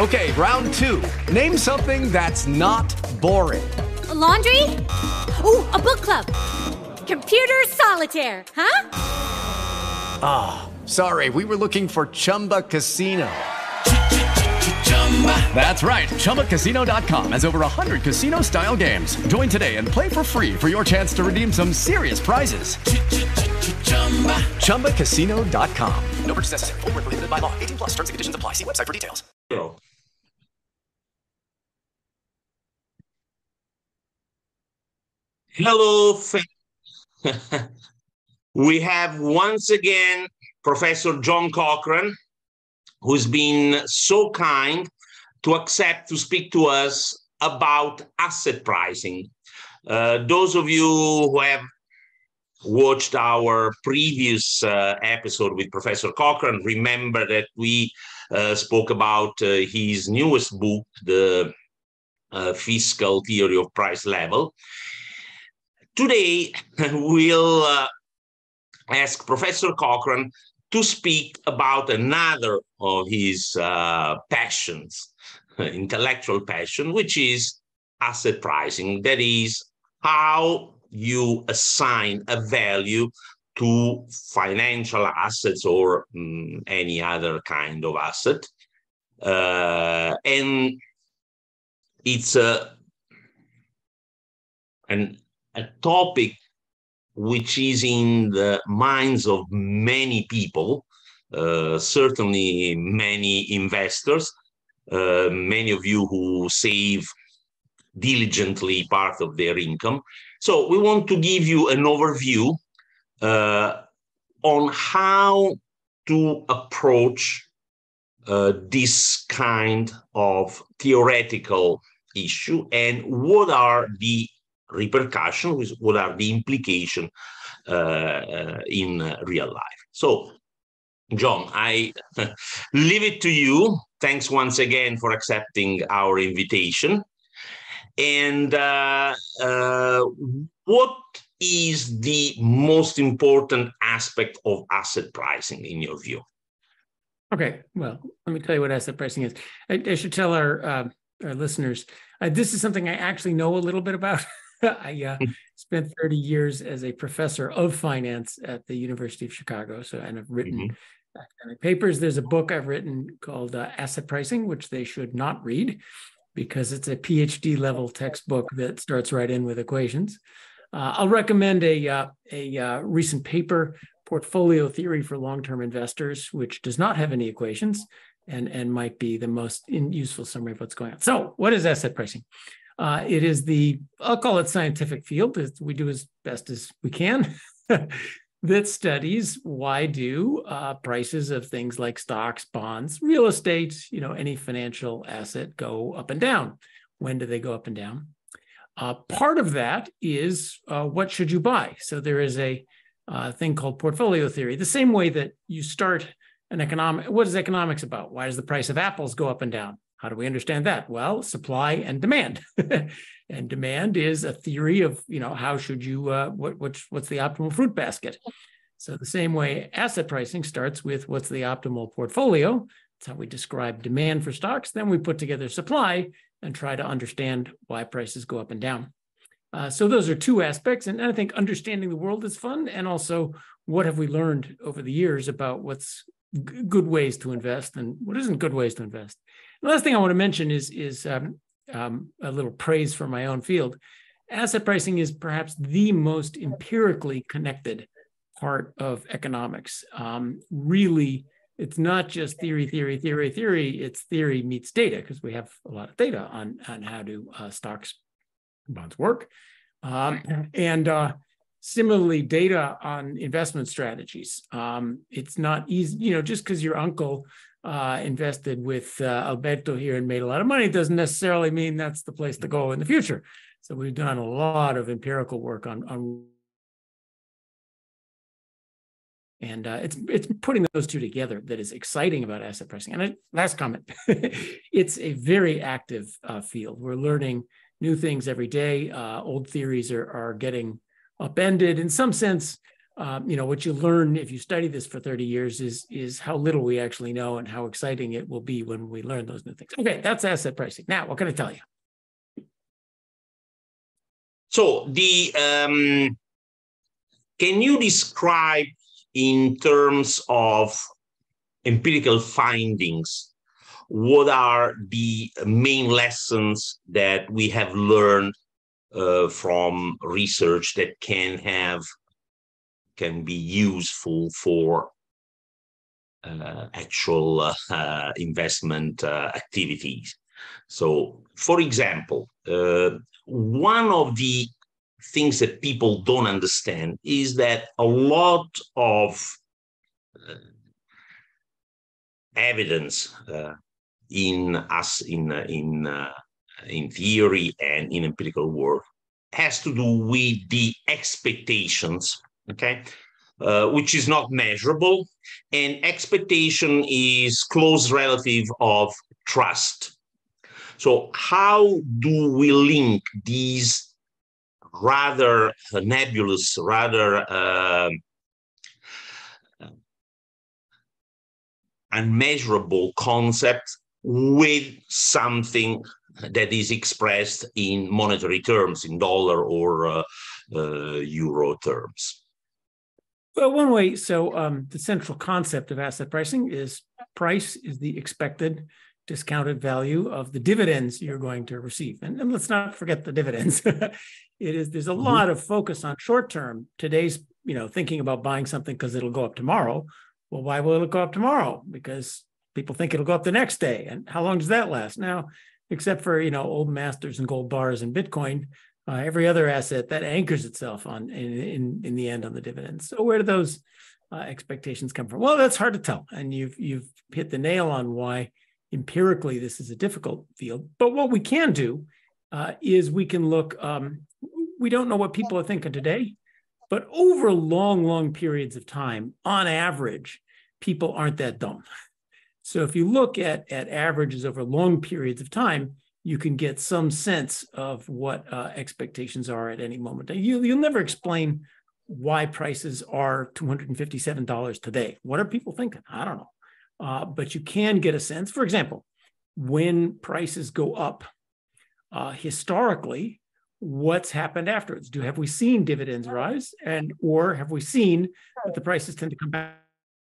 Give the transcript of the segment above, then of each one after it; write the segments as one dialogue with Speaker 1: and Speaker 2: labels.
Speaker 1: Okay, round two. Name something that's not boring.
Speaker 2: A laundry? Ooh, a book club. Computer solitaire, huh?
Speaker 1: Ah, sorry, we were looking for Chumba Casino. That's right. ChumbaCasino.com has over 100 casino-style games. Join today and play for free for your chance to redeem some serious prizes. ChumbaCasino.com. No purchase necessary. Void where prohibited by law. 18 plus. Terms and conditions apply. See website for details.
Speaker 3: Hello, we have once again Professor John Cochrane, who's been so kind to accept to speak to us about asset pricing. Those of you who have watched our previous episode with Professor Cochrane remember that we spoke about his newest book, The Fiscal Theory of Price Level. Today, we'll ask Professor Cochrane to speak about another of his passions, intellectual passion, which is asset pricing. That is, how you assign a value to financial assets or any other kind of asset. And it's a topic which is in the minds of many people, certainly many investors, many of you who save diligently part of their income. So we want to give you an overview on how to approach this kind of theoretical issue and what are the repercussions, what are the implications in real life. So, John, I leave it to you. Thanks once again for accepting our invitation. And what is the most important aspect of asset pricing in your view?
Speaker 4: Okay, well, let me tell you what asset pricing is. I should tell our listeners, this is something I actually know a little bit about. I spent 30 years as a professor of finance at the University of Chicago, and I've written academic papers. There's a book I've written called Asset Pricing, which they should not read because it's a PhD level textbook that starts right in with equations. I'll recommend a recent paper, Portfolio Theory for Long-Term Investors, which does not have any equations and might be the most useful summary of what's going on. So what is asset pricing? It is I'll call it scientific field, we do as best as we can, that studies why do prices of things like stocks, bonds, real estate, any financial asset go up and down. When do they go up and down? Part of that is what should you buy? So there is a thing called portfolio theory, the same way that you start what is economics about? Why does the price of apples go up and down? How do we understand that? Well, supply and demand. And demand is a theory of, how should you, what's the optimal fruit basket? So the same way asset pricing starts with what's the optimal portfolio. That's how we describe demand for stocks. Then we put together supply and try to understand why prices go up and down. So those are two aspects. And I think understanding the world is fun. And also, what have we learned over the years about what's good ways to invest and what isn't good ways to invest? The last thing I want to mention is a little praise for my own field. Asset pricing is perhaps the most empirically connected part of economics. Really, it's not just theory. It's theory meets data because we have a lot of data on how do stocks and bonds work. And similarly, data on investment strategies. It's not easy, just because your uncle invested with Alberto here and made a lot of money doesn't necessarily mean that's the place to go in the future. So we've done a lot of empirical work on and it's putting those two together that is exciting about asset pricing. And last comment, it's a very active field. We're learning new things every day. Old theories are getting upended. In some sense, what you learn if you study this for 30 years is how little we actually know and how exciting it will be when we learn those new things. Okay, that's asset pricing. Now, what can I tell you?
Speaker 3: So can you describe in terms of empirical findings, what are the main lessons that we have learned from research that can be useful for actual investment activities? So, for example, one of the things that people don't understand is that a lot of evidence in theory and in empirical work has to do with the expectations, okay, which is not measurable, and expectation is close relative of trust. So how do we link these rather nebulous, rather unmeasurable concepts with something that is expressed in monetary terms, in dollar or euro terms?
Speaker 4: Well, one way, so the central concept of asset pricing is price is the expected discounted value of the dividends you're going to receive. And let's not forget the dividends. There's a lot of focus on short term. Today's, thinking about buying something because it'll go up tomorrow. Well, why will it go up tomorrow? Because people think it'll go up the next day. And how long does that last? Now, except for, old masters and gold bars and Bitcoin, every other asset that anchors itself on in the end on the dividends. So where do those expectations come from? Well, that's hard to tell. And you've hit the nail on why empirically this is a difficult field. But what we can do is we can look, we don't know what people are thinking today, but over long, long periods of time, on average, people aren't that dumb. So if you look at averages over long periods of time, you can get some sense of what expectations are at any moment. You'll never explain why prices are $257 today. What are people thinking? I don't know. But you can get a sense. For example, when prices go up, historically, what's happened afterwards? Have we seen dividends rise, or have we seen that the prices tend to come back?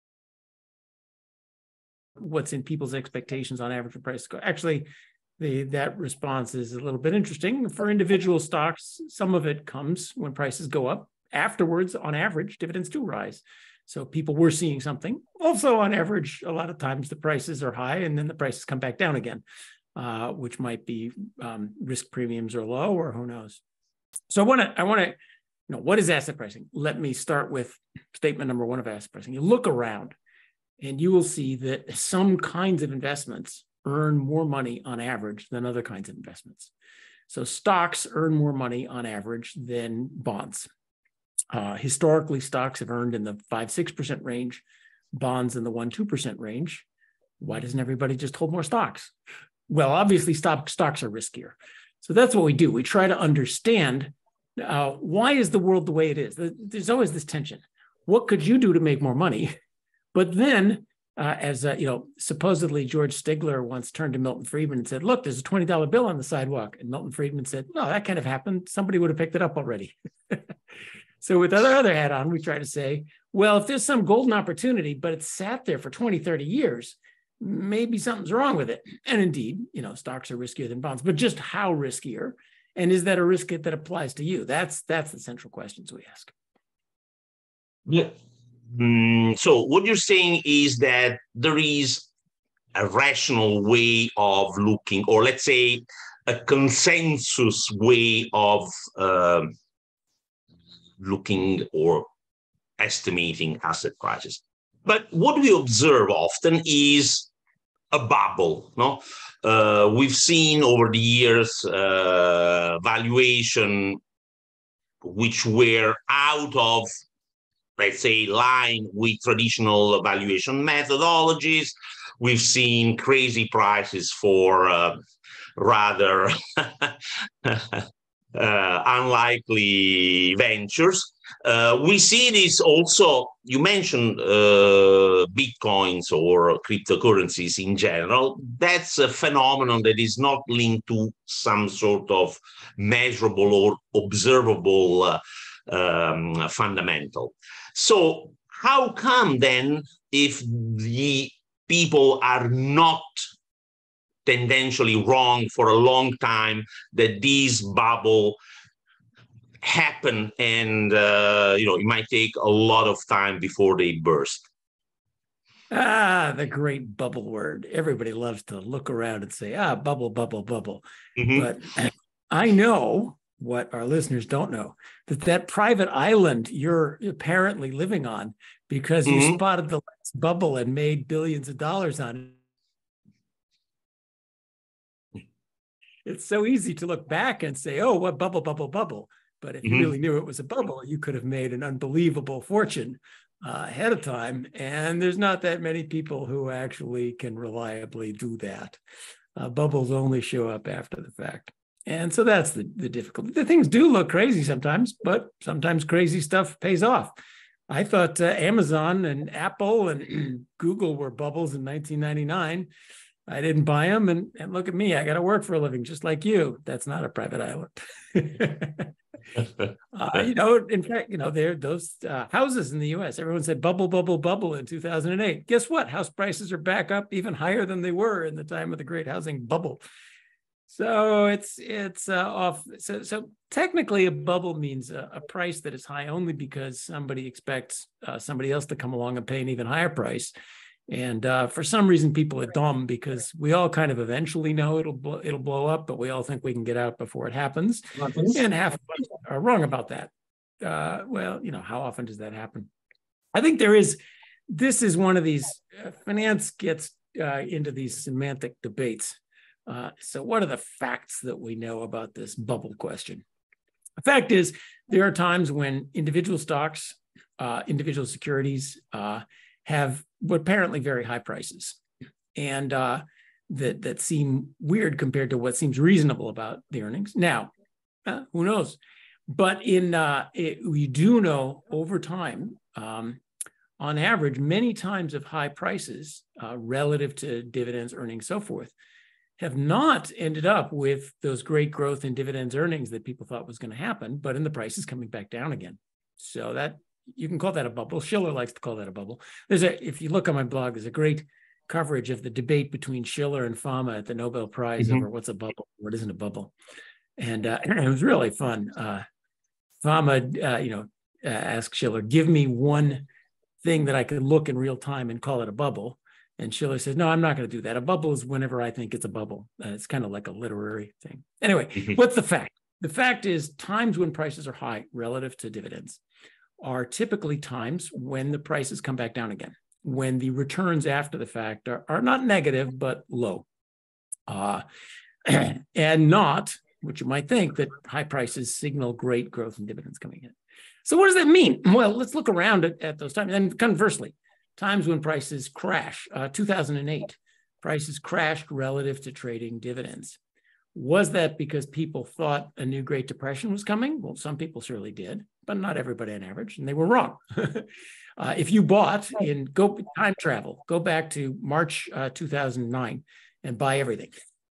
Speaker 4: What's in people's expectations on average of prices go? Actually, that response is a little bit interesting. For individual stocks, some of it comes when prices go up. Afterwards, on average, dividends do rise. So people were seeing something. Also, on average, a lot of times the prices are high and then the prices come back down again, which might be risk premiums are low, or who knows. So I want to, what is asset pricing? Let me start with statement number one of asset pricing. You look around and you will see that some kinds of investments earn more money on average than other kinds of investments. So stocks earn more money on average than bonds. Historically, stocks have earned in the 5-6% range, bonds in the 1-2% range. Why doesn't everybody just hold more stocks? Well, obviously, stocks are riskier. So that's what we do. We try to understand why is the world the way it is. There's always this tension. What could you do to make more money? But then, supposedly George Stigler once turned to Milton Friedman and said, look, there's a $20 bill on the sidewalk. And Milton Friedman said, no, that can't have happened. Somebody would have picked it up already. So with our other hat on, we try to say, well, if there's some golden opportunity, but it's sat there for 20, 30 years, maybe something's wrong with it. And indeed, stocks are riskier than bonds, but just how riskier? And is that a risk that applies to you? That's the central questions we ask.
Speaker 3: Yeah. So what you're saying is that there is a rational way of looking, or let's say a consensus way of looking or estimating asset prices. But what we observe often is a bubble. No, we've seen over the years valuation which were out of, let's say, line with traditional valuation methodologies. We've seen crazy prices for rather unlikely ventures. We see this also, you mentioned Bitcoins or cryptocurrencies in general. That's a phenomenon that is not linked to some sort of measurable or observable fundamental. So how come then, if the people are not tendentially wrong for a long time, that these bubble happen and it might take a lot of time before they burst?
Speaker 4: The great bubble word. Everybody loves to look around and say, bubble, bubble, bubble. Mm-hmm. But I know what our listeners don't know, that private island you're apparently living on because you mm-hmm. spotted the last bubble and made billions of dollars on it. It's so easy to look back and say, oh, what bubble, bubble, bubble. But if mm-hmm. you really knew it was a bubble, you could have made an unbelievable fortune ahead of time. And there's not that many people who actually can reliably do that. Bubbles only show up after the fact. And so that's the difficulty. The things do look crazy sometimes, but sometimes crazy stuff pays off. I thought Amazon and Apple and Google were bubbles in 1999. I didn't buy them. And look at me, I got to work for a living just like you. That's not a private island. In fact, there are those houses in the US. Everyone said bubble, bubble, bubble in 2008. Guess what? House prices are back up even higher than they were in the time of the great housing bubble. So it's off. So technically, a bubble means a price that is high only because somebody expects somebody else to come along and pay an even higher price. And for some reason, people are dumb because we all kind of eventually know it'll blow up, but we all think we can get out before it happens. And half of us are wrong about that. How often does that happen? I think this is one of these, finance gets into these semantic debates. So what are the facts that we know about this bubble question? The fact is, there are times when individual stocks, individual securities have apparently very high prices, and that seem weird compared to what seems reasonable about the earnings. Now, who knows? But we do know over time, on average, many times of high prices relative to dividends, earnings, so forth, have not ended up with those great growth in dividends earnings that people thought was going to happen, but in the prices coming back down again. So that you can call that a bubble. Schiller likes to call that a bubble. If you look on my blog, there's a great coverage of the debate between Schiller and Fama at the Nobel Prize mm-hmm. over what's a bubble, what isn't a bubble. And it was really fun. Fama, asked Schiller, give me one thing that I could look in real time and call it a bubble. And Schiller says, no, I'm not going to do that. A bubble is whenever I think it's a bubble. It's kind of like a literary thing. Anyway, mm-hmm. What's the fact? The fact is times when prices are high relative to dividends are typically times when the prices come back down again, when the returns after the fact are not negative, but low. And not, what you might think, that high prices signal great growth in dividends coming in. So what does that mean? Well, let's look around at those times. And conversely, times when prices crash. 2008, prices crashed relative to trading dividends. Was that because people thought a new Great Depression was coming? Well, some people surely did, but not everybody on average, and they were wrong. If you bought time travel, go back to March 2009 and buy everything.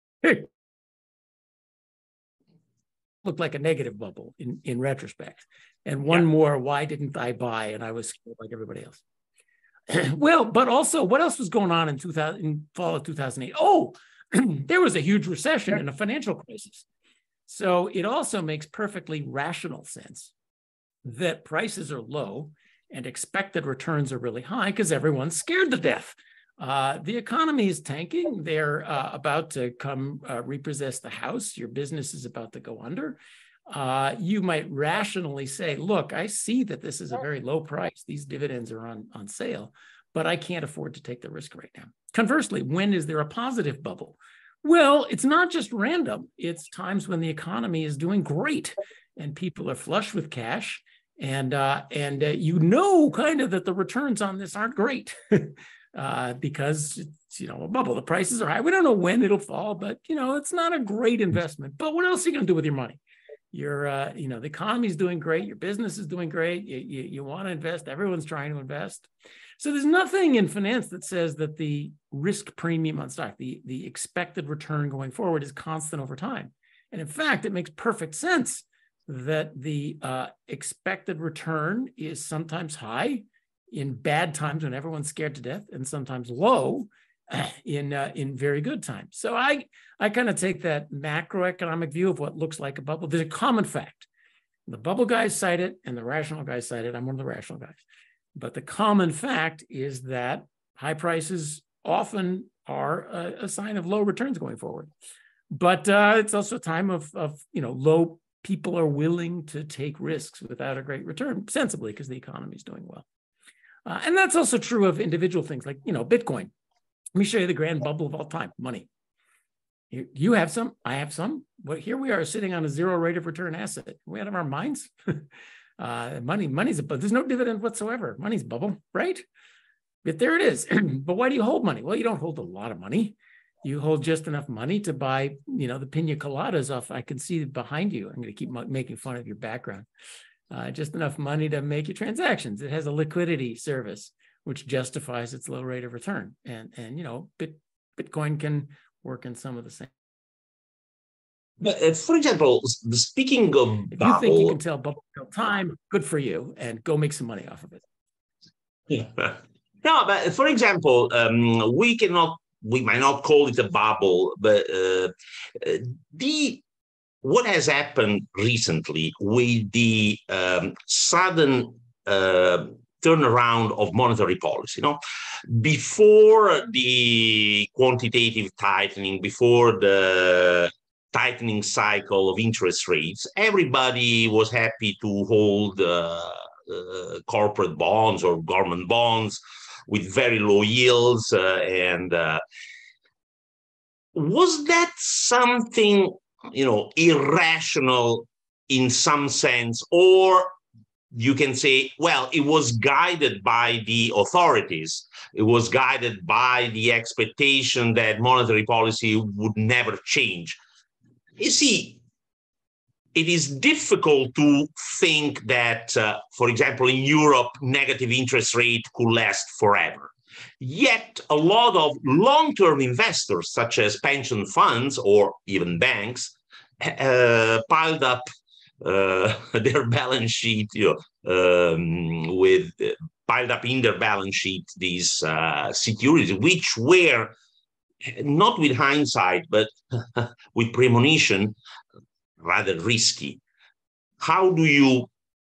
Speaker 4: Looked like a negative bubble in retrospect. And one more, why didn't I buy? And I was scared like everybody else. Well, but also, what else was going on in fall of 2008? Oh, there was a huge recession and a financial crisis. So it also makes perfectly rational sense that prices are low and expected returns are really high because everyone's scared to death. The economy is tanking. They're about to come repossess the house. Your business is about to go under. You might rationally say, look, I see that this is a very low price. These dividends are on sale, but I can't afford to take the risk right now. Conversely, when is there a positive bubble? Well, it's not just random. It's times when the economy is doing great and people are flush with cash and kind of that the returns on this aren't great because it's, a bubble. The prices are high. We don't know when it'll fall, but, it's not a great investment. But what else are you going to do with your money? the economy is doing great, your business is doing great, you want to invest, everyone's trying to invest. So there's nothing in finance that says that the risk premium on stock, the expected return going forward, is constant over time. And in fact, it makes perfect sense that the expected return is sometimes high in bad times when everyone's scared to death, and sometimes low in very good times. So I kind of take that macroeconomic view of what looks like a bubble. There's a common fact. The bubble guys cite it and the rational guys cite it. I'm one of the rational guys. But the common fact is that high prices often are a sign of low returns going forward. But it's also a time of low. People are willing to take risks without a great return, sensibly, because the economy is doing well. And that's also true of individual things like, Bitcoin. Let me show you the grand bubble of all time, money. You have some, I have some. But here we are sitting on a zero rate of return asset. Are we out of our minds? Money's a bubble. There's no dividend whatsoever. Money's a bubble, right? But there it is. But why do you hold money? Well, you don't hold a lot of money. You hold just enough money to buy, the pina coladas off. I can see behind you. I'm going to keep making fun of your background. Just enough money to make your transactions. It has a liquidity service, which justifies its low rate of return. And Bitcoin can work in some of the same.
Speaker 3: But for example, speaking of
Speaker 4: if
Speaker 3: bubble,
Speaker 4: you think you can tell bubble time, good for you, and go make some money off of it.
Speaker 3: Yeah. No, but for example, we might not call it a bubble, but what has happened recently with the sudden turnaround of monetary policy, before the quantitative tightening, before the tightening cycle of interest rates, everybody was happy to hold corporate bonds or government bonds with very low yields. And was that something, irrational in some sense? Or you can say, well, it was guided by the authorities. It was guided by the expectation that monetary policy would never change. You see, it is difficult to think that, for example, in Europe, negative interest rate could last forever. Yet a lot of long-term investors, such as pension funds or even banks, piled up their balance sheet, piled up in their balance sheet these securities, which were, not with hindsight, but with premonition, rather risky. How do you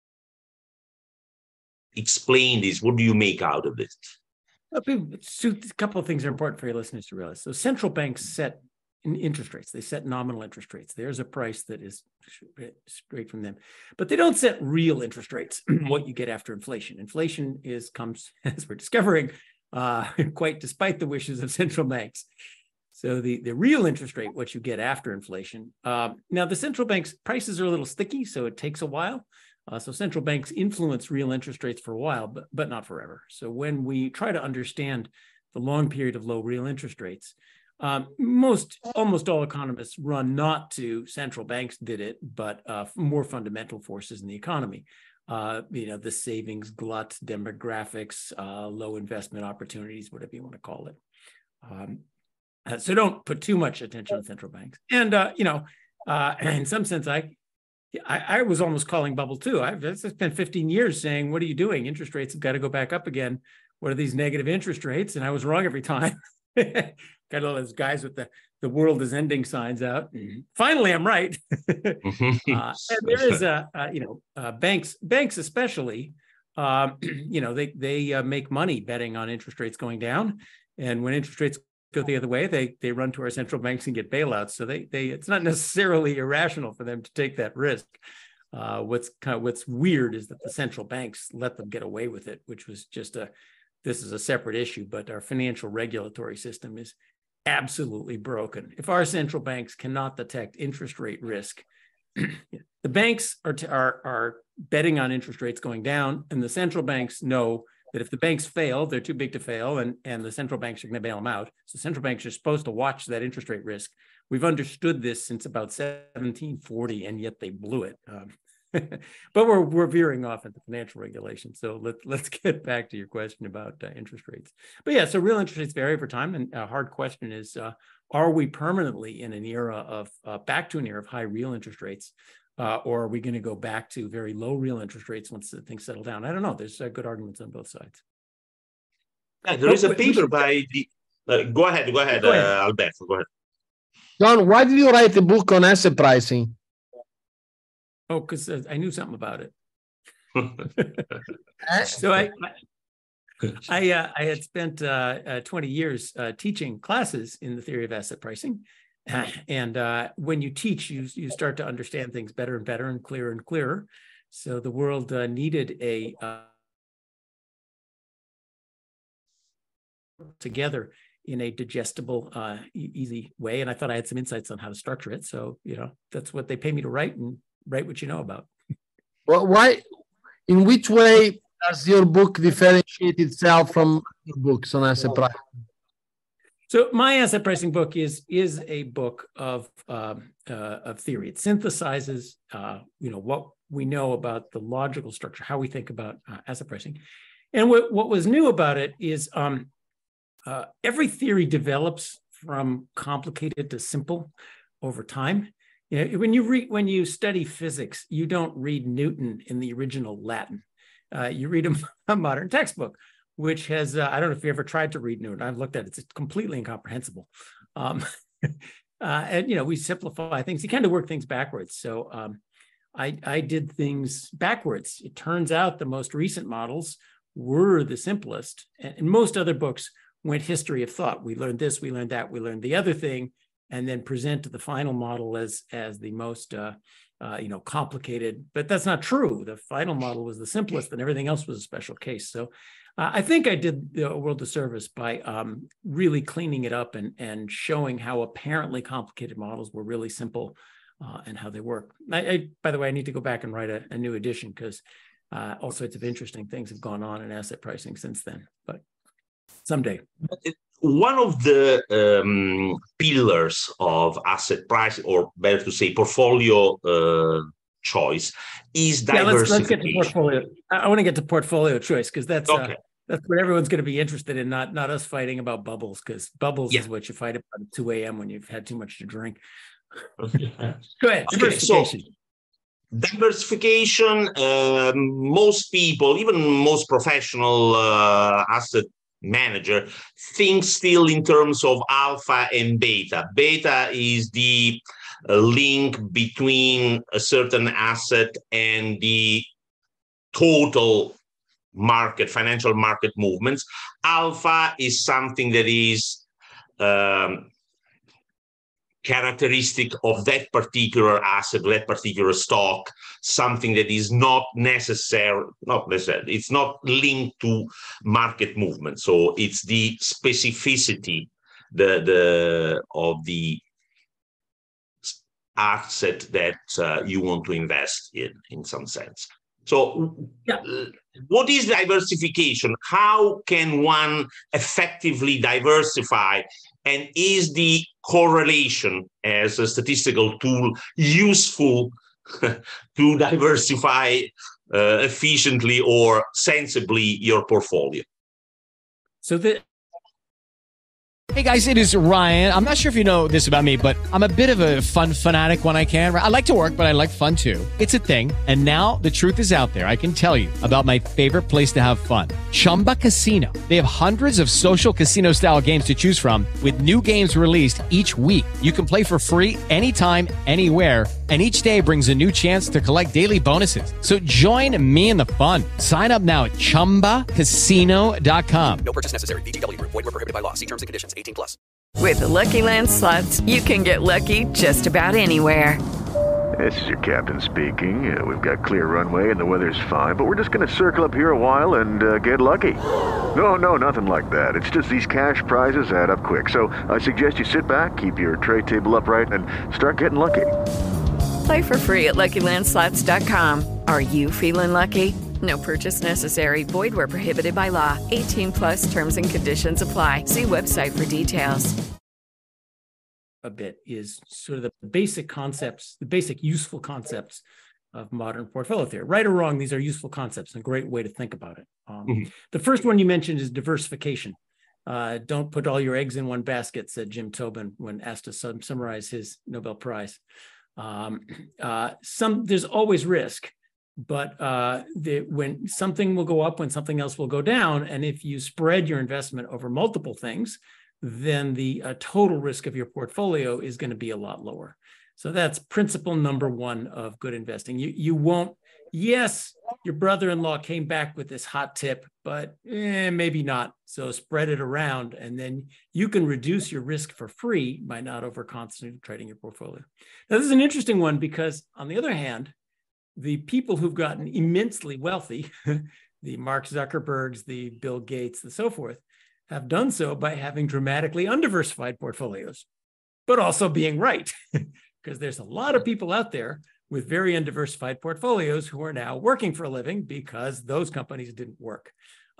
Speaker 3: explain this? What do you make out of it?
Speaker 4: A couple of things are important for your listeners to realize. So central banks set interest rates. They set nominal interest rates. There's a price that is straight from them. But they don't set real interest rates, what you get after inflation. Inflation comes, as we're discovering, quite despite the wishes of central banks. So the real interest rate, what you get after inflation. Now, the central bank's prices are a little sticky, so it takes a while. So central banks influence real interest rates for a while, but not forever. So when we try to understand the long period of low real interest rates, almost all economists run not to central banks did it, but more fundamental forces in the economy. The savings glut, demographics, low investment opportunities, whatever you want to call it. So don't put too much attention on central banks. And, in some sense, I was almost calling bubble too. I've spent 15 years saying, what are you doing? Interest rates have got to go back up again. What are these negative interest rates? And I was wrong every time. Got all those guys with the world is ending signs out. Finally, I'm right. And there is banks especially, they make money betting on interest rates going down. And when interest rates go the other way, they run to our central banks and get bailouts. So it's not necessarily irrational for them to take that risk. What's weird is that the central banks let them get away with it, which was this is a separate issue, but our financial regulatory system is absolutely broken. If our central banks cannot detect interest rate risk, the banks are betting on interest rates going down, and the central banks know that if the banks fail, they're too big to fail, and the central banks are going to bail them out. So central banks are supposed to watch that interest rate risk. We've understood this since about 1740, and yet they blew it. But we're veering off into financial regulation. So let's get back to your question about interest rates. But yeah, so real interest rates vary over time, and a hard question is, are we permanently in an era of back to an era of high real interest rates, or are we going to go back to very low real interest rates once things settle down? I don't know. There's good arguments on both sides.
Speaker 3: There is a paper by the. Go ahead, Alberto. Go ahead.
Speaker 5: John, why did you write a book on asset pricing?
Speaker 4: Oh, because I knew something about it. So I had spent 20 years teaching classes in the theory of asset pricing. And when you teach, you start to understand things better and better and clearer. So the world needed a together in a digestible, easy way. And I thought I had some insights on how to structure it. So, that's what they pay me to write, and write what you know about.
Speaker 5: Well, why? In which way does your book differentiate itself from other books on asset pricing?
Speaker 4: So my asset pricing book is a book of theory. It synthesizes, what we know about the logical structure, how we think about asset pricing. And what was new about it is every theory develops from complicated to simple over time. When you study physics, you don't read Newton in the original Latin. You read a modern textbook, which has, I don't know if you ever tried to read Newton. I've looked at it. It's completely incomprehensible. And, we simplify things. You kind of work things backwards. So I did things backwards. It turns out the most recent models were the simplest. And most other books went history of thought. We learned this, we learned that, we learned the other thing, and then present the final model as the most complicated. But that's not true. The final model was the simplest, and everything else was a special case. So I think I did the world a service by really cleaning it up and showing how apparently complicated models were really simple and how they work. By the way, I need to go back and write a new edition, because all sorts of interesting things have gone on in asset pricing since then. But someday.
Speaker 3: One of the pillars of asset pricing, or better to say, portfolio choice, is diversification.
Speaker 4: Let's get to portfolio. I want to get to portfolio choice, because that's
Speaker 3: okay.
Speaker 4: That's what everyone's going to be interested in, not us fighting about bubbles, because bubbles is what you fight about at 2 a.m. when you've had too much to drink. Go ahead. Diversification.
Speaker 3: Diversification, most people, even most professional asset manager, think still in terms of alpha and beta. Beta is the link between a certain asset and the total market, financial market movements. Alpha is something that is characteristic of that particular asset, that particular stock, something that is not necessary, it's not linked to market movement. So it's the specificity of the asset that you want to invest in some sense. So what is diversification? How can one effectively diversify? And is the correlation as a statistical tool useful to diversify efficiently or sensibly your portfolio?
Speaker 6: Hey guys, it is Ryan. I'm not sure if you know this about me, but I'm a bit of a fun fanatic when I can. I like to work, but I like fun too. It's a thing. And now the truth is out there. I can tell you about my favorite place to have fun. Chumba Casino. They have hundreds of social casino style games to choose from, with new games released each week. You can play for free anytime, anywhere. And each day brings a new chance to collect daily bonuses. So join me in the fun. Sign up now at ChumbaCasino.com.
Speaker 7: No purchase necessary. VGW Group. Void where prohibited by law. See terms and conditions. 18+.
Speaker 8: With the Lucky Land Slots, you can get lucky just about anywhere.
Speaker 9: This is your captain speaking. We've got clear runway and the weather's fine, but we're just going to circle up here a while and get lucky. No, nothing like that. It's just these cash prizes add up quick. So I suggest you sit back, keep your tray table upright, and start getting lucky.
Speaker 8: Play for free at LuckyLandSlots.com. Are you feeling lucky? No purchase necessary. Void where prohibited by law. 18 plus terms and conditions apply. See website for details.
Speaker 4: A bit is sort of the basic concepts, the basic useful concepts of modern portfolio theory. Right or wrong, these are useful concepts and a great way to think about it. The first one you mentioned is diversification. Don't put all your eggs in one basket, said Jim Tobin when asked to summarize his Nobel Prize. There's always risk, but when something will go up, when something else will go down, and if you spread your investment over multiple things, then the total risk of your portfolio is going to be a lot lower. So that's principle number one of good investing. You won't, yes, your brother-in-law came back with this hot tip, but maybe not. So spread it around, and then you can reduce your risk for free by not over-concentrating your portfolio. Now, this is an interesting one because, on the other hand, the people who've gotten immensely wealthy, the Mark Zuckerbergs, the Bill Gates, and so forth, have done so by having dramatically undiversified portfolios, but also being right. Because there's a lot of people out there with very undiversified portfolios who are now working for a living because those companies didn't work.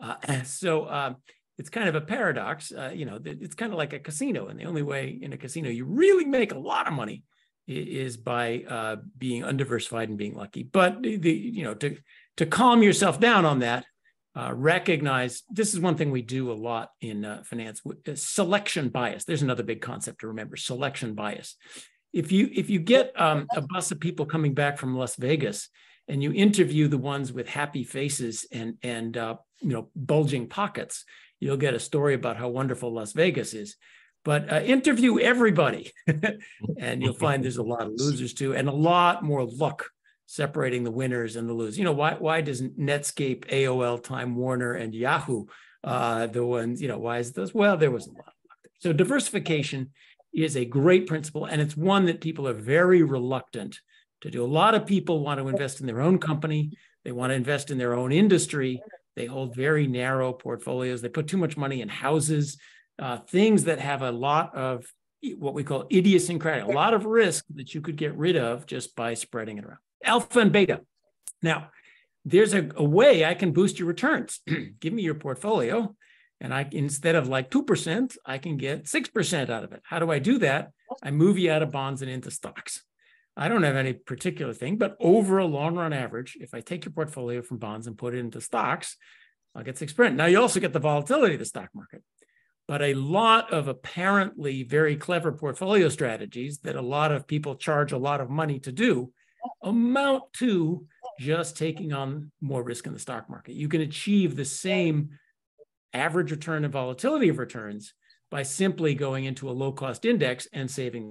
Speaker 4: So it's kind of a paradox. It's kind of like a casino, and the only way in a casino you really make a lot of money is by being undiversified and being lucky. But to calm yourself down on that, recognize this is one thing we do a lot in finance: selection bias. There's another big concept to remember: selection bias. If you get a bus of people coming back from Las Vegas and you interview the ones with happy faces and bulging pockets, you'll get a story about how wonderful Las Vegas is. But interview everybody, and you'll find there's a lot of losers too, and a lot more luck separating the winners and the losers. Why doesn't Netscape, AOL, Time Warner, and Yahoo the ones? Why is this? Well, there was a lot of luck there. So diversification is a great principle, and it's one that people are very reluctant to do. A lot of people want to invest in their own company. They want to invest in their own industry. They hold very narrow portfolios. They put too much money in houses, things that have a lot of what we call idiosyncratic, a lot of risk that you could get rid of just by spreading it around. Alpha and beta. Now, there's a way I can boost your returns. Give me your portfolio, and instead of like 2%, I can get 6% out of it. How do I do that? I move you out of bonds and into stocks. I don't have any particular thing, but over a long run average, if I take your portfolio from bonds and put it into stocks, I'll get 6%. Now, you also get the volatility of the stock market. But a lot of apparently very clever portfolio strategies that a lot of people charge a lot of money to do amount to just taking on more risk in the stock market. You can achieve the same average return and volatility of returns by simply going into a low-cost index and saving.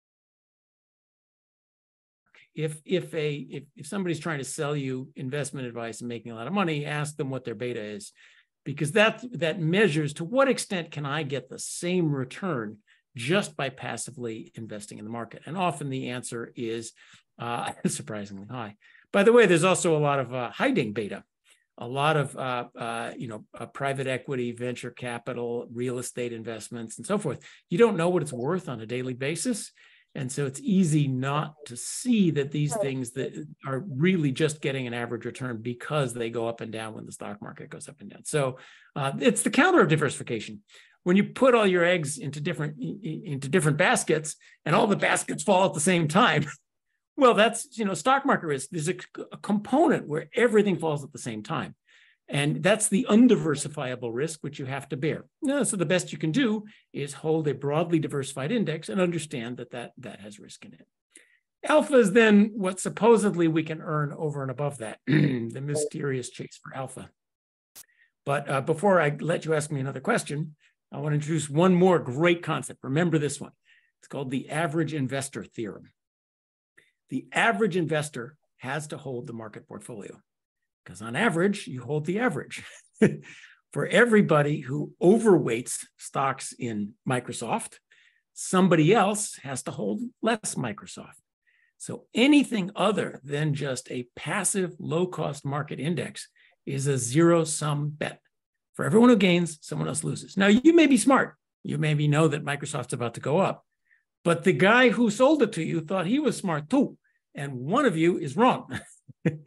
Speaker 4: If somebody's trying to sell you investment advice and making a lot of money, ask them what their beta is, because that measures to what extent can I get the same return just by passively investing in the market. And often the answer is surprisingly high. By the way, there's also a lot of hiding beta. A lot of private equity, venture capital, real estate investments, and so forth. You don't know what it's worth on a daily basis. And so it's easy not to see that these things that are really just getting an average return because they go up and down when the stock market goes up and down. So it's the counter of diversification. When you put all your eggs into different baskets and all the baskets fall at the same time, well, that's, stock market risk. There's a component where everything falls at the same time. And that's the undiversifiable risk, which you have to bear. So the best you can do is hold a broadly diversified index and understand that has risk in it. Alpha is then what supposedly we can earn over and above that, the mysterious chase for alpha. But before I let you ask me another question, I want to introduce one more great concept. Remember this one. It's called the average investor theorem. The average investor has to hold the market portfolio because on average, you hold the average. For everybody who overweights stocks in Microsoft, somebody else has to hold less Microsoft. So anything other than just a passive low-cost market index is a zero-sum bet. For everyone who gains, someone else loses. Now, you may be smart. You maybe know that Microsoft's about to go up. But the guy who sold it to you thought he was smart too. And one of you is wrong.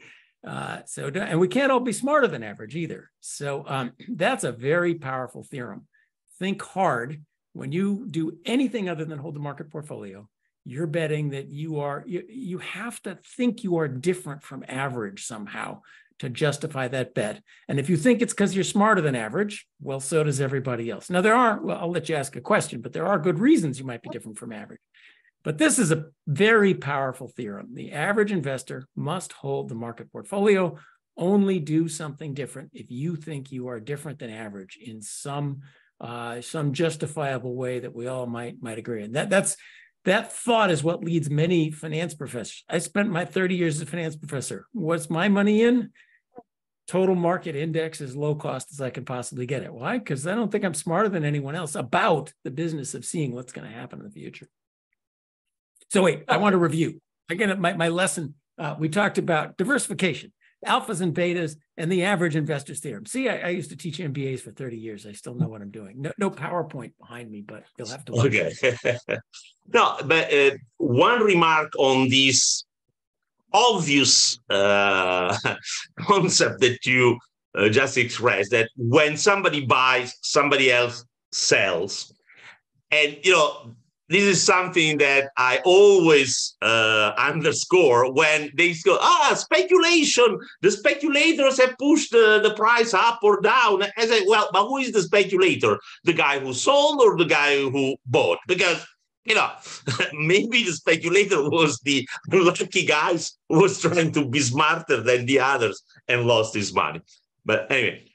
Speaker 4: And we can't all be smarter than average either. So that's a very powerful theorem. Think hard. When you do anything other than hold the market portfolio, you're betting that you have to think you are different from average somehow to justify that bet. And if you think it's because you're smarter than average, well, so does everybody else. Now I'll let you ask a question, but there are good reasons you might be different from average. But this is a very powerful theorem. The average investor must hold the market portfolio, only do something different if you think you are different than average in some justifiable way that we all might agree. And that thought is what leads many finance professors. I spent my 30 years as a finance professor. What's my money in? Total market index as low cost as I can possibly get it. Why? Because I don't think I'm smarter than anyone else about the business of seeing what's going to happen in the future. So wait, I want to review. Again, my lesson, we talked about diversification, alphas and betas, and the average investor's theorem. See, I used to teach MBAs for 30 years. I still know what I'm doing. No PowerPoint behind me, but you'll have to watch.
Speaker 3: Okay. No, but one remark on this obvious concept that you just expressed, that when somebody buys, somebody else sells. And, this is something that I always underscore when they go, speculation. The speculators have pushed the price up or down. I say, well, but who is the speculator? The guy who sold or the guy who bought? Because, maybe the speculator was the lucky guy who was trying to be smarter than the others and lost his money. But anyway,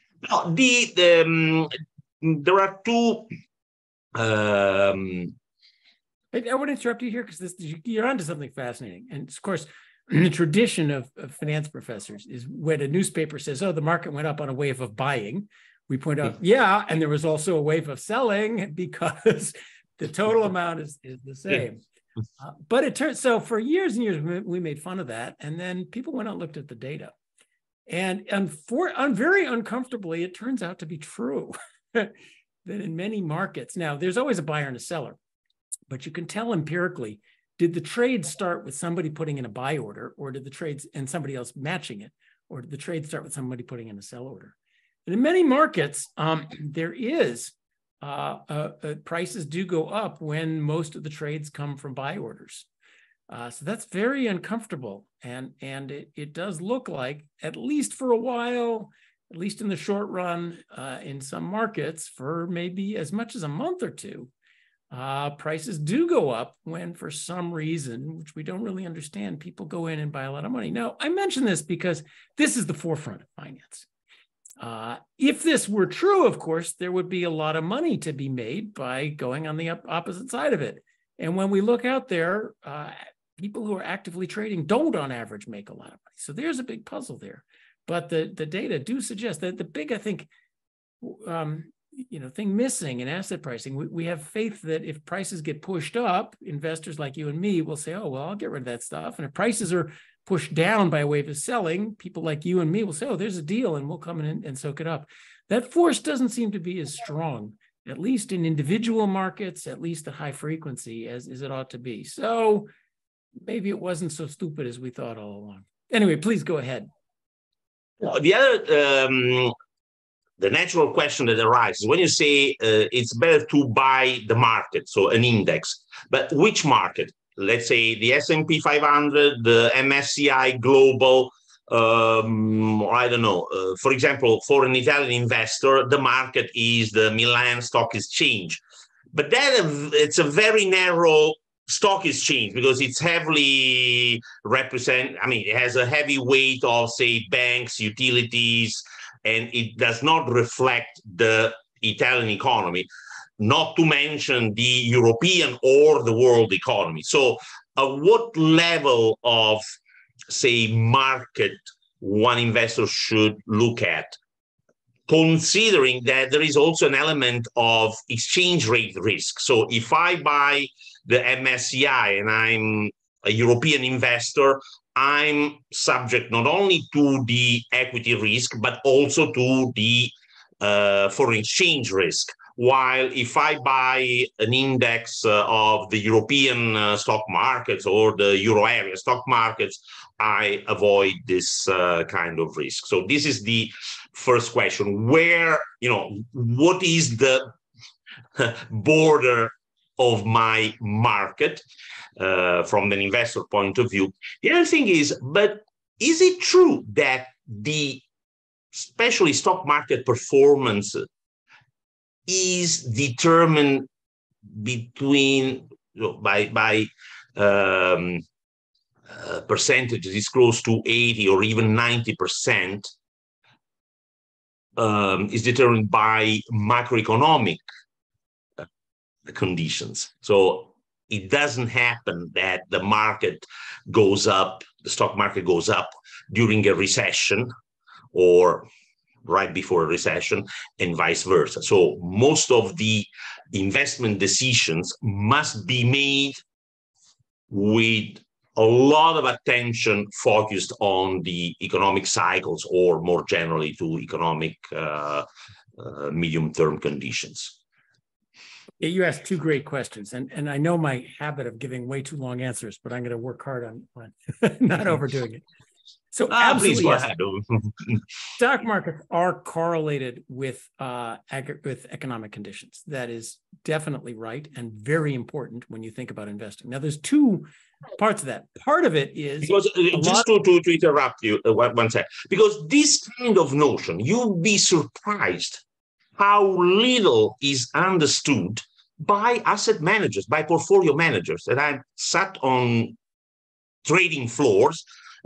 Speaker 3: there are two...
Speaker 4: I want to interrupt you here because you're onto something fascinating. And of course, the tradition of finance professors is when a newspaper says, the market went up on a wave of buying, we point out, and there was also a wave of selling because the total amount is the same. But it turns, so for years and years, we made fun of that. And then people went out and looked at the data. And very uncomfortably, it turns out to be true that in many markets, now there's always a buyer and a seller. But you can tell empirically, did the trade start with somebody putting in a buy order, or did the trades and somebody else matching it, or did the trade start with somebody putting in a sell order? And in many markets, there is prices do go up when most of the trades come from buy orders. So that's very uncomfortable, and it does look like, at least for a while, at least in the short run, in some markets, for maybe as much as a month or two. Prices do go up when, for some reason, which we don't really understand, people go in and buy a lot of money. Now, I mention this because this is the forefront of finance. If this were true, of course, there would be a lot of money to be made by going on the opposite side of it. And when we look out there, people who are actively trading don't, on average, make a lot of money. So there's a big puzzle there. But the data do suggest that the big, I think, thing missing in asset pricing, we have faith that if prices get pushed up, investors like you and me will say, I'll get rid of that stuff. And if prices are pushed down by a wave of selling, people like you and me will say, there's a deal, and we'll come in and soak it up. That force doesn't seem to be as strong, at least in individual markets, at least at high frequency, as it ought to be. So maybe it wasn't so stupid as we thought all along. Anyway, please go ahead.
Speaker 3: The other... the natural question that arises when you say it's better to buy the market, so an index, but which market? Let's say the S&P 500, the MSCI Global, I don't know. For example, for an Italian investor, the market is the Milan Stock Exchange. But then it's a very narrow stock exchange because it's heavily it has a heavy weight of, say, banks, utilities, and it does not reflect the Italian economy, not to mention the European or the world economy. So what level of, say, market one investor should look at, considering that there is also an element of exchange rate risk? So if I buy the MSCI and I'm a European investor, I'm subject not only to the equity risk, but also to the foreign exchange risk. While if I buy an index of the European stock markets or the Euro area stock markets, I avoid this kind of risk. So this is the first question. Where, what is the border of my market from an investor point of view? The other thing is, but is it true that especially stock market performance is determined by percentages is close to 80 or even 90%, is determined by macroeconomic conditions. So it doesn't happen that the market goes up, the stock market goes up during a recession or right before a recession, and vice versa. So most of the investment decisions must be made with a lot of attention focused on the economic cycles, or more generally to economic medium-term conditions.
Speaker 4: You asked two great questions, and I know my habit of giving way too long answers, but I'm going to work hard on not overdoing it. So absolutely, yes. Stock markets are correlated with economic conditions. That is definitely right and very important when you think about investing. Now, there's two parts of that. Part of it is
Speaker 3: because just to interrupt you one sec, because this kind of notion, you'll be surprised how little is understood by asset managers, by portfolio managers. And I've sat on trading floors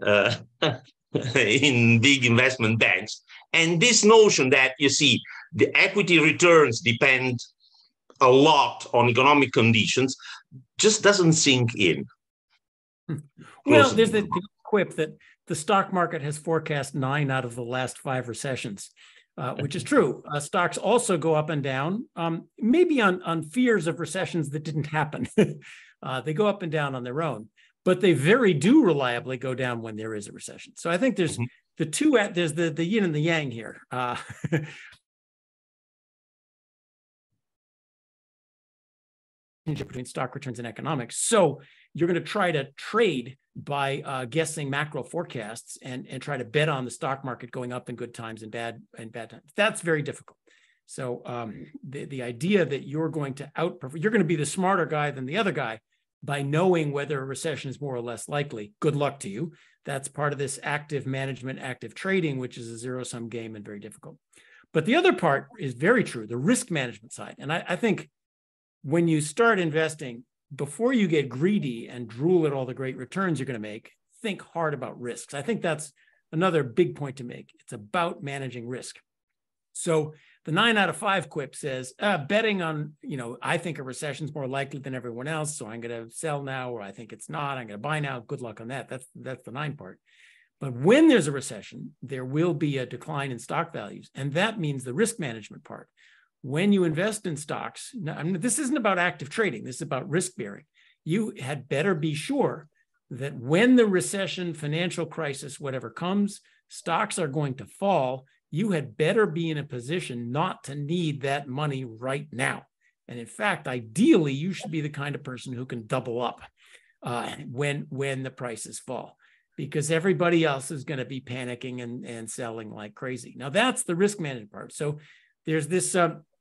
Speaker 3: in big investment banks, and this notion that the equity returns depend a lot on economic conditions just doesn't sink in.
Speaker 4: Well, there's the quip that the stock market has forecast 9 out of the last 5 recessions, which is true. Stocks also go up and down, maybe on fears of recessions that didn't happen. They go up and down on their own. But they very do reliably go down when there is a recession. So I think there's the two, there's the yin and the yang here. Between stock returns and economics. So you're going to try to trade by guessing macro forecasts and try to bet on the stock market going up in good times and bad times. That's very difficult. So the idea that you're going to outperform, you're going to be the smarter guy than the other guy by knowing whether a recession is more or less likely, good luck to you. That's part of this active management, active trading, which is a zero-sum game and very difficult. But the other part is very true, the risk management side. And I think when you start investing, before you get greedy and drool at all the great returns you're going to make, think hard about risks. I think that's another big point to make. It's about managing risk. So the 9 out of 5 quip says, betting on, I think a recession is more likely than everyone else, so I'm going to sell now, or I think it's not, I'm going to buy now. Good luck on that. That's the 9 part. But when there's a recession, there will be a decline in stock values. And that means the risk management part. When you invest in stocks, this isn't about active trading. This is about risk bearing. You had better be sure that when the recession, financial crisis, whatever comes, stocks are going to fall. You had better be in a position not to need that money right now. And in fact, ideally, you should be the kind of person who can double up when the prices fall, because everybody else is going to be panicking and selling like crazy. Now, that's the risk management part. So there's this,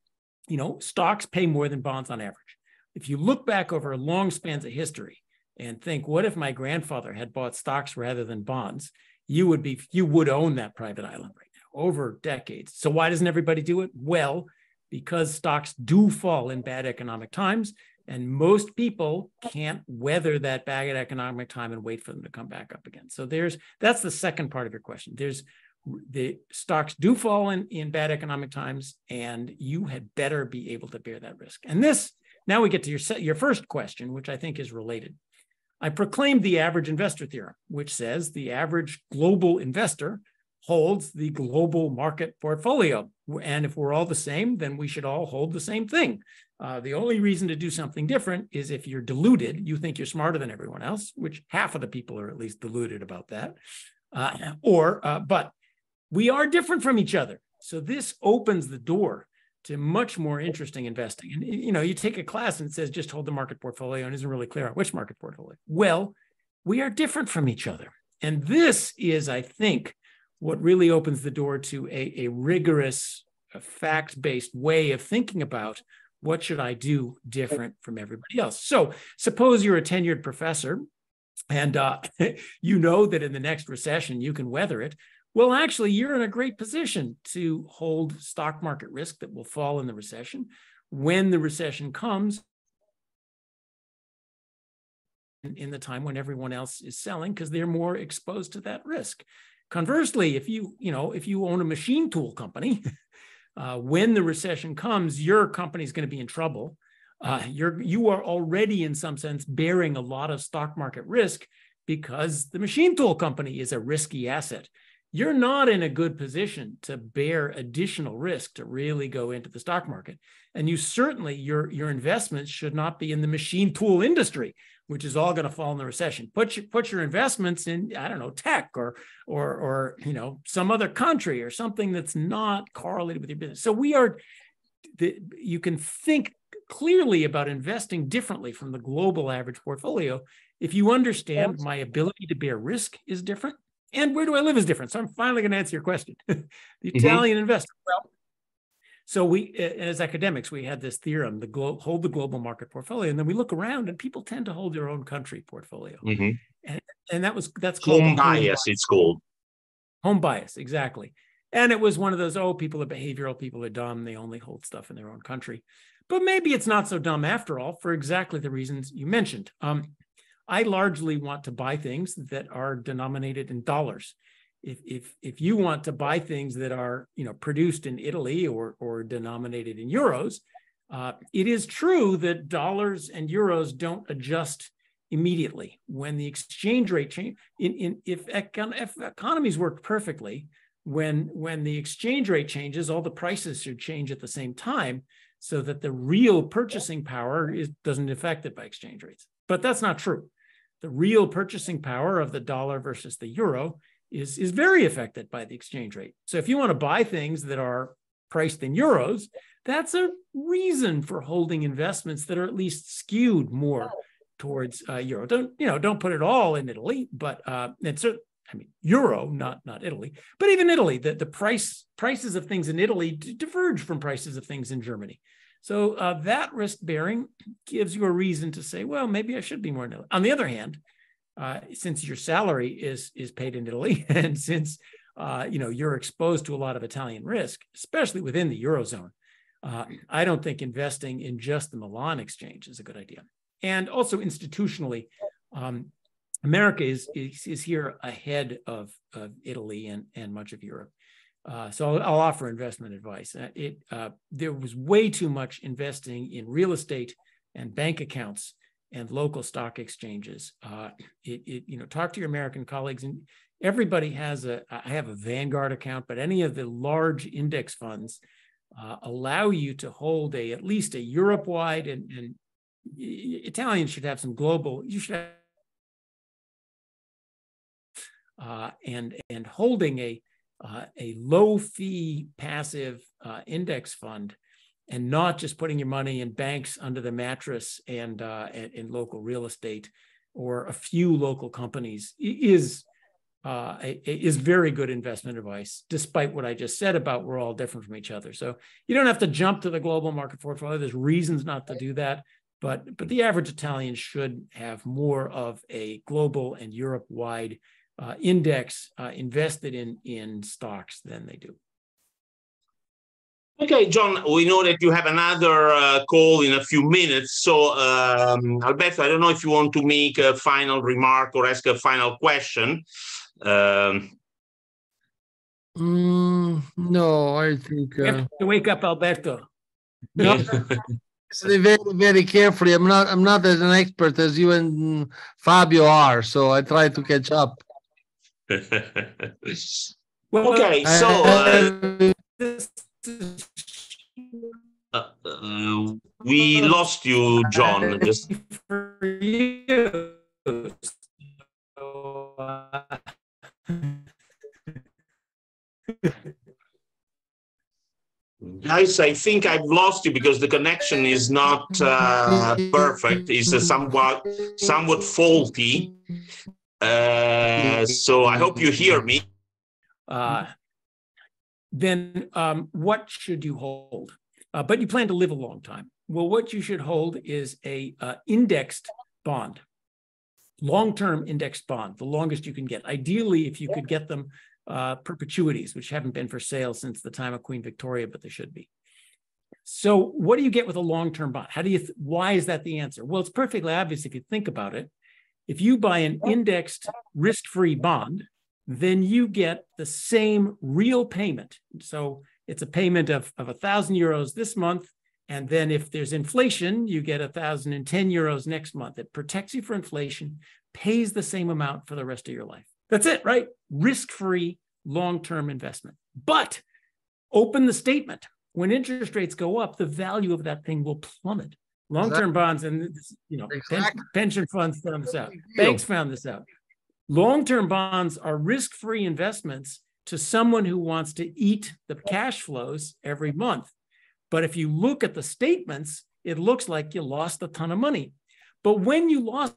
Speaker 4: stocks pay more than bonds on average. If you look back over long spans of history and think, what if my grandfather had bought stocks rather than bonds? You would own that private island right now over decades. So why doesn't everybody do it? Well, because stocks do fall in bad economic times, and most people can't weather that bad economic time and wait for them to come back up again. So that's the second part of your question. The stocks do fall in bad economic times, and you had better be able to bear that risk. And now we get to your first question, which I think is related. I proclaimed the average investor theorem, which says the average global investor holds the global market portfolio. And if we're all the same, then we should all hold the same thing. The only reason to do something different is if you're deluded, you think you're smarter than everyone else, which half of the people are at least deluded about that. But we are different from each other. So this opens the door to much more interesting investing. And, you take a class and it says just hold the market portfolio and isn't really clear on which market portfolio. Well, we are different from each other. And this is, I think, what really opens the door to a rigorous, fact-based way of thinking about what should I do different from everybody else. So suppose you're a tenured professor and you know that in the next recession you can weather it. Well, actually, you're in a great position to hold stock market risk that will fall in the recession. When the recession comes, in the time when everyone else is selling, because they're more exposed to that risk. Conversely, if you own a machine tool company, when the recession comes, your company is going to be in trouble. You are already, in some sense, bearing a lot of stock market risk because the machine tool company is a risky asset. You're not in a good position to bear additional risk to really go into the stock market. And you certainly, your investments should not be in the machine tool industry, which is all going to fall in the recession. Put your investments in, I don't know, tech or some other country or something that's not correlated with your business. So you can think clearly about investing differently from the global average portfolio if you understand my ability to bear risk is different. And where do I live is different. So I'm finally going to answer your question. The Italian investor. Well, so we, as academics, we had this theorem, hold the global market portfolio. And then we look around and people tend to hold their own country portfolio. And that's called
Speaker 3: home bias, it's called.
Speaker 4: Home bias, exactly. And it was one of those, people are behavioral, people are dumb, they only hold stuff in their own country. But maybe it's not so dumb after all, for exactly the reasons you mentioned. I largely want to buy things that are denominated in dollars. If you want to buy things that are produced in Italy or denominated in euros, it is true that dollars and euros don't adjust immediately when the exchange rate change. If economies work perfectly, when the exchange rate changes, all the prices should change at the same time, so that the real purchasing power doesn't affect it by exchange rates. But that's not true. The real purchasing power of the dollar versus the euro is very affected by the exchange rate. So if you want to buy things that are priced in euros, that's a reason for holding investments that are at least skewed more towards euro. Don't put it all in Italy, but euro, not Italy. But even Italy, the prices of things in Italy diverge from prices of things in Germany. So that risk bearing gives you a reason to say, well, maybe I should be more in Italy. On the other hand, since your salary is paid in Italy, and since you're exposed to a lot of Italian risk, especially within the Eurozone, I don't think investing in just the Milan exchange is a good idea. And also institutionally, America is here ahead of Italy and much of Europe. So I'll offer investment advice. There was way too much investing in real estate and bank accounts and local stock exchanges. Talk to your American colleagues, and everybody I have a Vanguard account, but any of the large index funds allow you to hold at least a Europe-wide, and Italians should have some global. You should have, and holding a low fee passive index fund, and not just putting your money in banks under the mattress and in local real estate or a few local companies is very good investment advice, despite what I just said about we're all different from each other. So you don't have to jump to the global market portfolio. There's reasons not to do that, but the average Italian should have more of a global and Europe-wide index invested in stocks than they do.
Speaker 3: Okay, John, we know that you have another call in a few minutes. So, Alberto, I don't know if you want to make a final remark or ask a final question.
Speaker 5: No, I think...
Speaker 4: You have to wake up, Alberto.
Speaker 5: No. Very, very carefully. I'm not as an expert as you and Fabio are, so I try to catch up.
Speaker 3: Well, okay, so we lost you, John. Joyce, I think I've lost you because the connection is not perfect. It's somewhat faulty. So I hope you hear me.
Speaker 4: Then what should you hold? But you plan to live a long time. Well, what you should hold is a indexed bond, long-term indexed bond, the longest you can get. Ideally, if you could get them perpetuities, which haven't been for sale since the time of Queen Victoria, but they should be. So what do you get with a long-term bond? Why is that the answer? Well, it's perfectly obvious if you think about it. If you buy an indexed risk-free bond, then you get the same real payment. So it's a payment of 1,000 euros this month. And then if there's inflation, you get 1,010 euros next month. It protects you for inflation, pays the same amount for the rest of your life. That's it, right? Risk-free, long-term investment. But open the statement. When interest rates go up, the value of that thing will plummet. Long-term bonds, and pension funds found this out. Banks found this out. Long-term bonds are risk-free investments to someone who wants to eat the cash flows every month. But if you look at the statements, it looks like you lost a ton of money. But when you lost,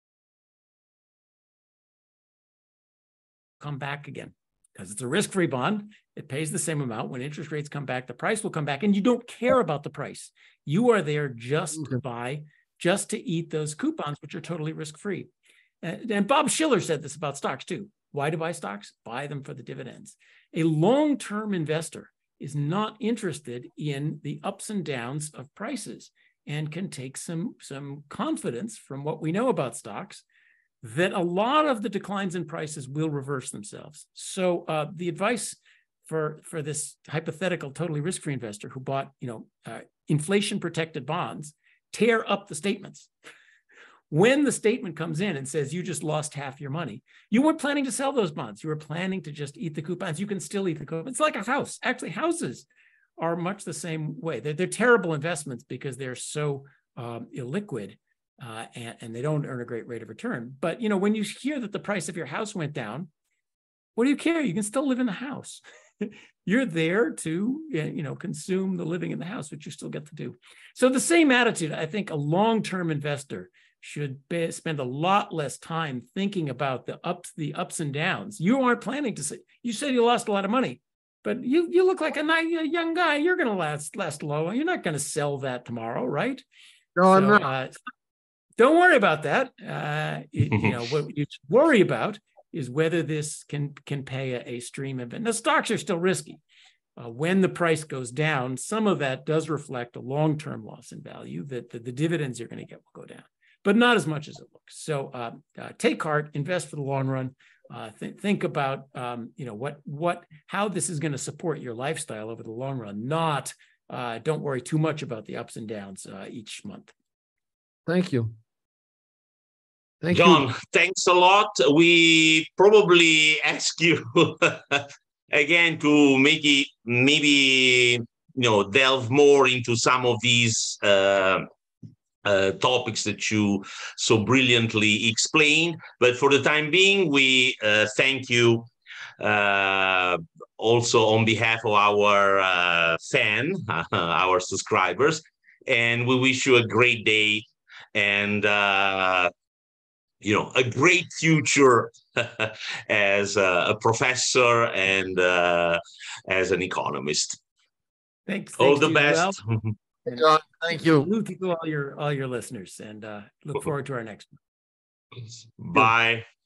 Speaker 4: come back again, because it's a risk-free bond. It pays the same amount. When interest rates come back, the price will come back, and you don't care about the price. You are there just to eat those coupons, which are totally risk-free. And Bob Shiller said this about stocks too. Why to buy stocks? Buy them for the dividends. A long-term investor is not interested in the ups and downs of prices and can take some confidence from what we know about stocks that a lot of the declines in prices will reverse themselves. So the advice for this hypothetical totally risk-free investor who bought inflation-protected bonds, tear up the statements. When the statement comes in and says you just lost half your money, you weren't planning to sell those bonds. You were planning to just eat the coupons. You can still eat the coupons. It's like a house. Actually, houses are much the same way. They're terrible investments because they're so illiquid and they don't earn a great rate of return. But when you hear that the price of your house went down, what do you care? You can still live in the house. You're there to consume the living in the house, which you still get to do. So the same attitude, I think a long-term investor should spend a lot less time thinking about the ups and downs. You aren't planning to say, you said you lost a lot of money, but you look like a young guy. You're going to last low. You're not going to sell that tomorrow, right?
Speaker 5: No, I'm not.
Speaker 4: Don't worry about that. What you should worry about is whether this can pay a stream of it. Now, stocks are still risky. When the price goes down, some of that does reflect a long-term loss in value that the dividends you're going to get will go down, but not as much as it looks. So take heart, invest for the long run. Think about how this is going to support your lifestyle over the long run. Not don't worry too much about the ups and downs each month.
Speaker 5: Thank you.
Speaker 3: John, thanks a lot. We probably ask you again to maybe delve more into some of these topics that you so brilliantly explained. But for the time being, we thank you also on behalf of our our subscribers, and we wish you a great day and a great future as a professor and as an economist.
Speaker 4: Thanks
Speaker 3: all the best.
Speaker 5: John, thank you.
Speaker 4: Salute to all your listeners, and look forward to our next one.
Speaker 3: Bye.